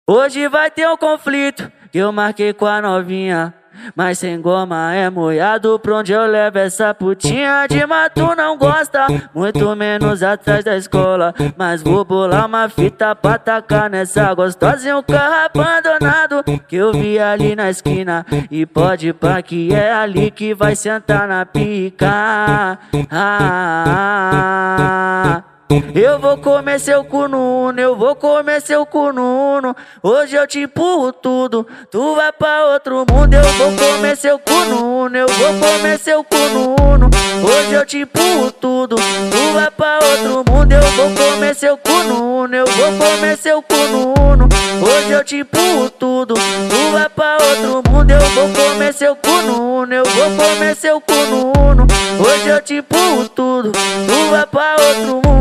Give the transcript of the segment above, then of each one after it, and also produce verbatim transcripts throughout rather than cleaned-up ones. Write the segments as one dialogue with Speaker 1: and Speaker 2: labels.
Speaker 1: Hoje vai ter um conflito que eu marquei com a novinha, mas sem goma é moiado, pra onde eu levo essa putinha? De mato não gosta, muito menos atrás da escola, mas vou bolar uma fita pra tacar nessa gostosa e um carro abandonado que eu vi ali na esquina. E pode pá que é ali que vai sentar na pica. Ah, eu vou comer seu cu no uno, eu vou comer seu cu no uno. Hoje eu te empurro tudo, tu vai pra outro mundo. Eu vou comer seu cu no uno, eu vou comer seu cu no uno. Hoje eu te empurro tudo, tu vai pra outro mundo. Eu vou comer seu cu no uno, eu vou comer seu cu no uno. Hoje eu te empurro tudo, tu vai pra outro mundo. Eu vou comer seu cu no uno, eu vou comer seu cu no uno. Hoje eu te empurro tudo, tu vai pra outro mundo.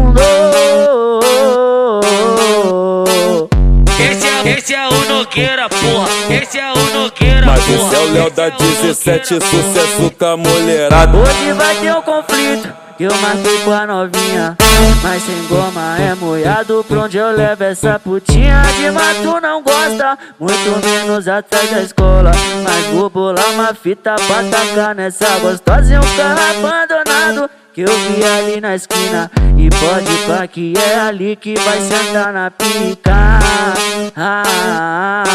Speaker 2: Esse é, esse é o Nogueira, porra. Esse é o Nogueira,
Speaker 3: mas
Speaker 2: porra.
Speaker 3: Mas esse é o Léo da dezessete, sucesso com a mulherada.
Speaker 1: Hoje vai ter um conflito que eu marquei com a novinha, mas sem goma é moiado, pra onde eu levo essa putinha? De mato não gosta, muito menos atrás da escola, mas vou bolar uma fita pra tacar nessa gostosa e um carro abandonado que eu vi ali na esquina. E pode pá que é ali que vai sentar na pica. Ah,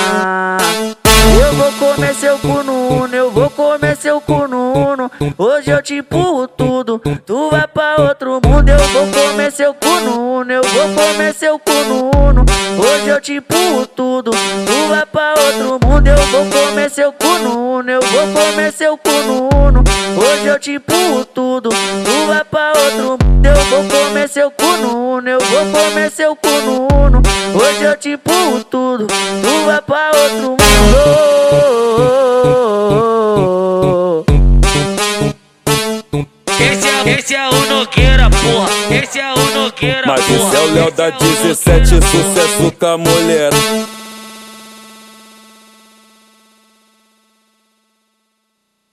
Speaker 1: eu vou comer seu cu no uno, eu vou comer seu cu no uno. Hoje eu te empurro tudo, tu vai pra outro mundo. Eu vou comer seu cu no uno, eu vou comer seu cu no uno. Hoje eu te empurro tudo, tu vai pra outro mundo. Eu vou comer seu cu no uno, eu vou comer seu cu no uno. Hoje eu te empurro tudo, tu vai pra outro mundo. Eu vou comer seu cu no uno, eu vou comer seu cu no uno. Hoje eu te empurro tudo, tu vai pra outro mundo.
Speaker 2: Esse é, esse é o Nogueira, porra. Esse é o Nogueira,
Speaker 3: mas
Speaker 2: porra.
Speaker 3: Mas esse é o Léo da dezessete, sucesso com a mulher.